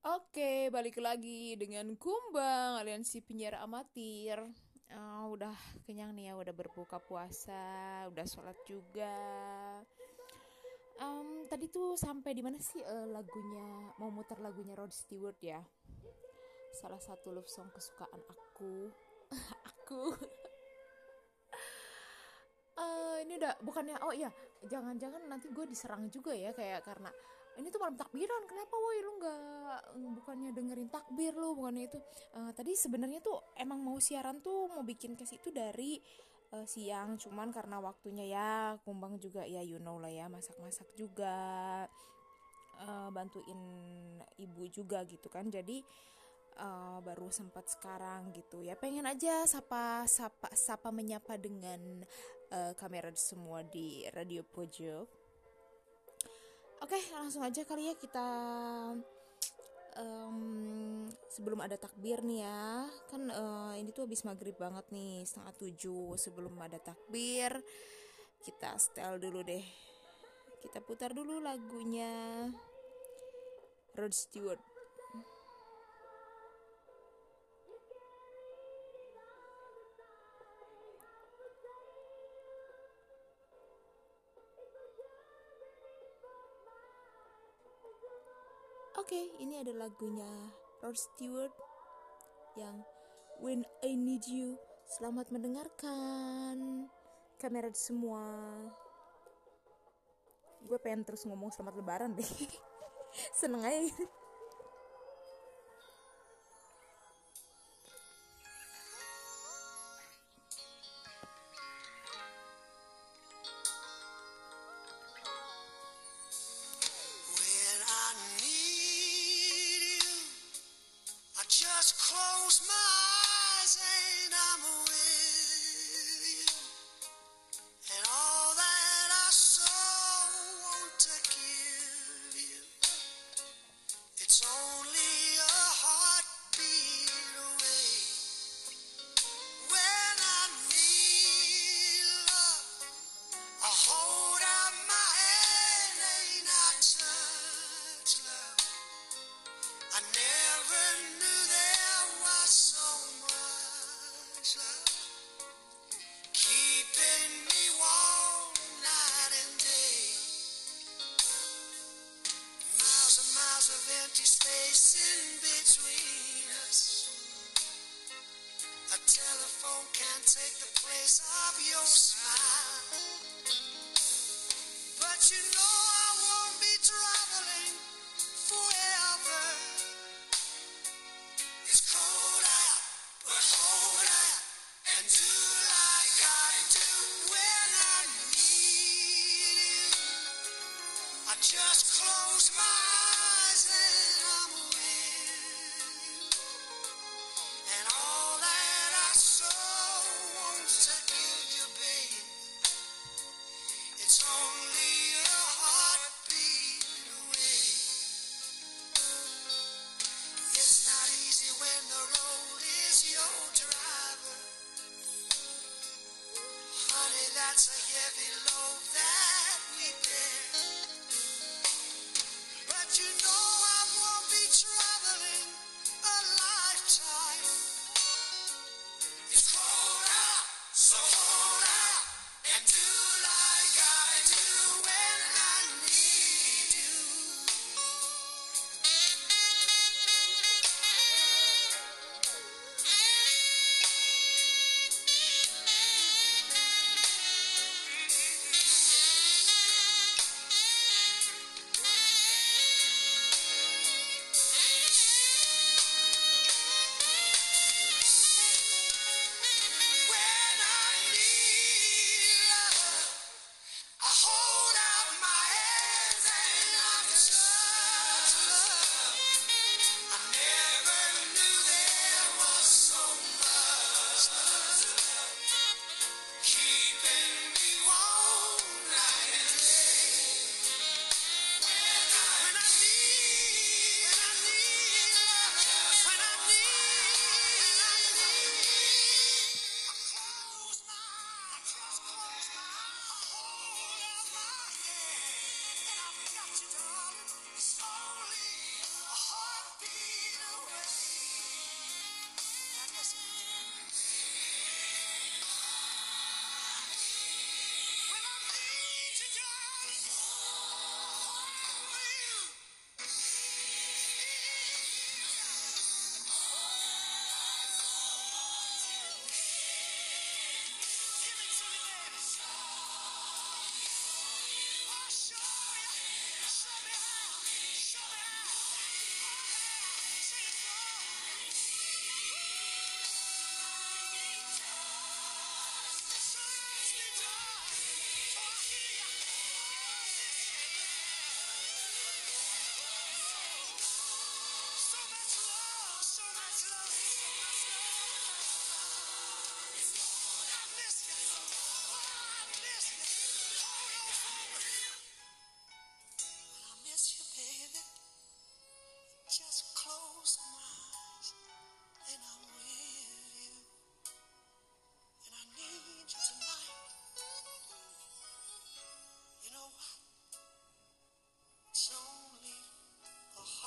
Oke, balik lagi dengan Kumbang, aliansi penyiar amatir. Udah kenyang nih ya, udah berbuka puasa, udah sholat juga. Tadi tuh sampai di mana sih lagunya, mau muter lagunya Rod Stewart ya? Salah satu love song kesukaan aku. Aku. Ini udah bukannya, oh iya, jangan-jangan nanti gue diserang juga ya, kayak karena ini tuh malam takbiran, kenapa woi lu nggak, bukannya dengerin takbir lu, bukannya itu. Tadi sebenarnya tuh emang mau siaran tuh, mau bikin case itu dari siang, cuman karena waktunya ya, Kumbang juga ya you know lah ya, masak-masak juga, bantuin ibu juga gitu kan, jadi baru sempat sekarang gitu ya, pengen aja sapa menyapa dengan kamera semua di Radio Pojok. Oke, langsung aja kali ya kita, sebelum ada takbir nih ya, kan ini tuh habis maghrib banget nih, 6:30. Sebelum ada takbir kita setel dulu deh, kita putar dulu lagunya Rod Stewart. Oke, ini ada lagunya Rod Stewart yang When I Need You. Selamat mendengarkan kamera semua. Gue pengen terus ngomong selamat lebaran deh. Seneng aja gitu. When I need you, I just close my eyes and I'm with you. And all that I so want to give you, it's only a heartbeat away. When I need love, I hold out my hand and I touch love. I never knew there was so much love keeping me warm night and day. Miles and miles of empty space in between us. A telephone can't take the place of your smile. But you know I won't be traveling forever. It's cold out, but hold out and do like I do when I need you. I just close my eyes and I'm with you. And all that I so want to give you, babe, it's only a heartbeat away.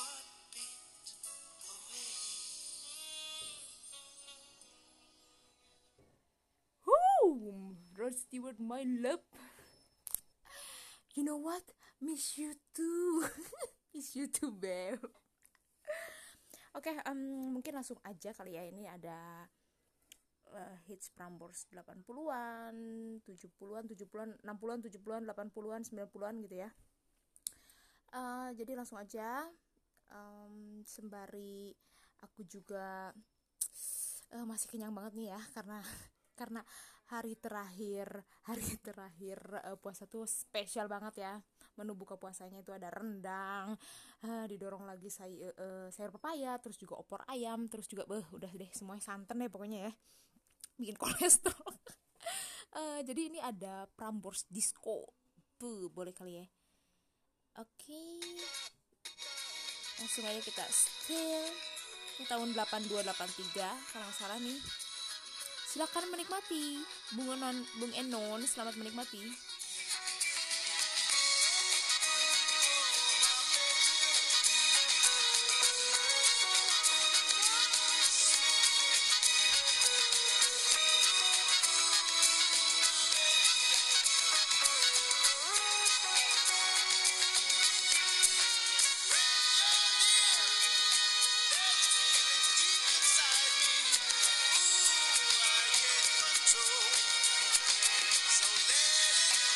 heartbeat away. Rod Stewart, my love. You know what? Miss you too. Miss you too, babe. Oke, mungkin langsung aja kali ya. Ini ada hits Prambors 80-an, 70-an, 60-an, 70-an, 80-an, 90-an gitu ya. Jadi langsung aja, sembari aku juga masih kenyang banget nih ya, karena hari terakhir puasa tuh spesial banget ya. Menu buka puasanya itu ada rendang, didorong lagi sayur pepaya, terus juga opor ayam, terus juga udah deh semuanya santan deh pokoknya ya, bikin kolesterol. Jadi ini ada Prambors Disco. Boleh kali ya. Oke. Langsung aja kita still. Ini tahun 82-83 kalau nggak salah nih. Silakan menikmati. Bung Enon, selamat menikmati. So let it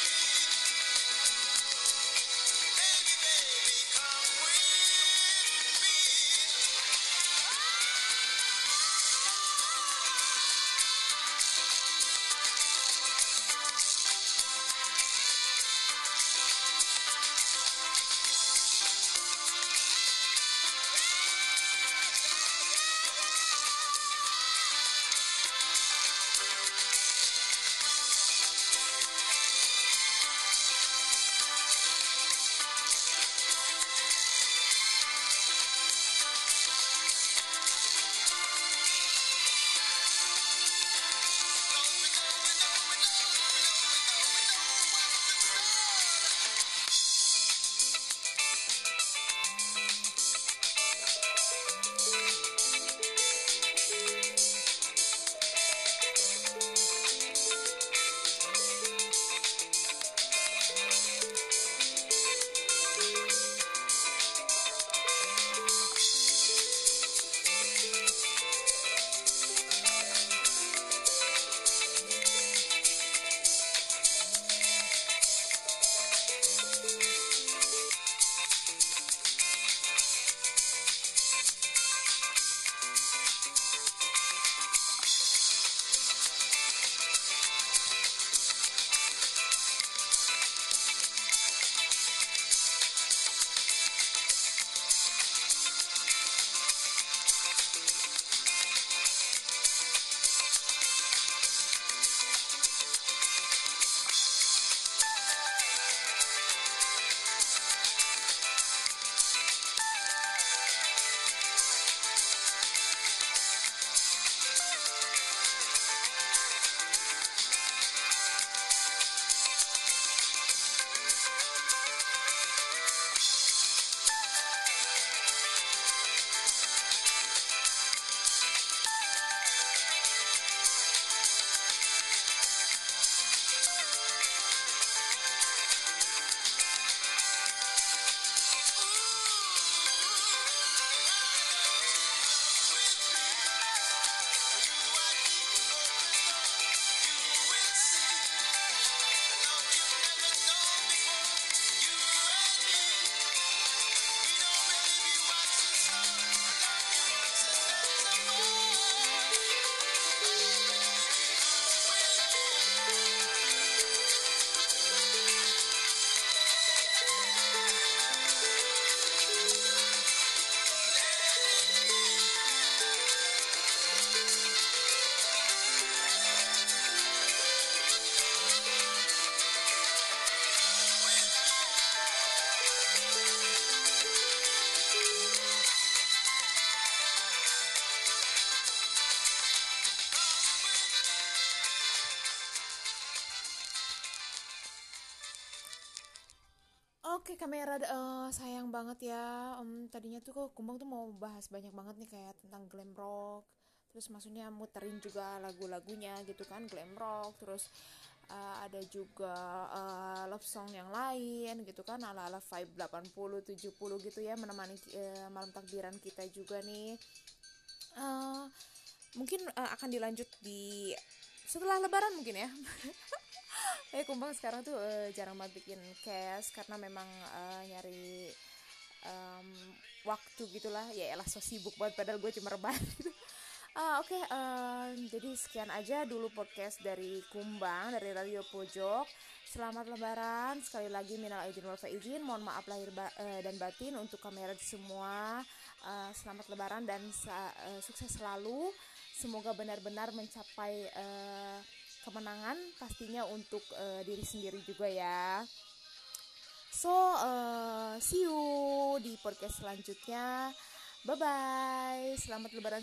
kamera, sayang banget ya. Tadinya tuh kok Kumbang tuh mau bahas banyak banget nih kayak tentang glam rock. Terus maksudnya muterin juga lagu-lagunya gitu kan, glam rock. Terus ada juga love song yang lain gitu kan, ala-ala vibe 80 70 gitu ya, menemani malam takbiran kita juga nih. Eh, Mungkin akan dilanjut di setelah lebaran mungkin ya. Kumbang sekarang tuh jarang banget bikin cast karena memang nyari em, waktu gitulah, ya elah so sibuk banget padahal gue cuma rebahan gitu. Oke, jadi sekian aja dulu podcast dari Kumbang, dari Radio Pojok. Selamat lebaran, sekali lagi minal aidin wal faizin, mohon maaf lahir dan batin untuk kamera semua. Selamat lebaran dan sukses selalu, semoga benar-benar mencapai kemenangan pastinya untuk diri sendiri juga ya. So, see you di podcast selanjutnya. Bye-bye. Selamat lebaran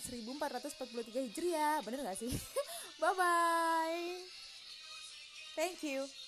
1443 Hijriah. Bener gak sih? Bye-bye. Thank you.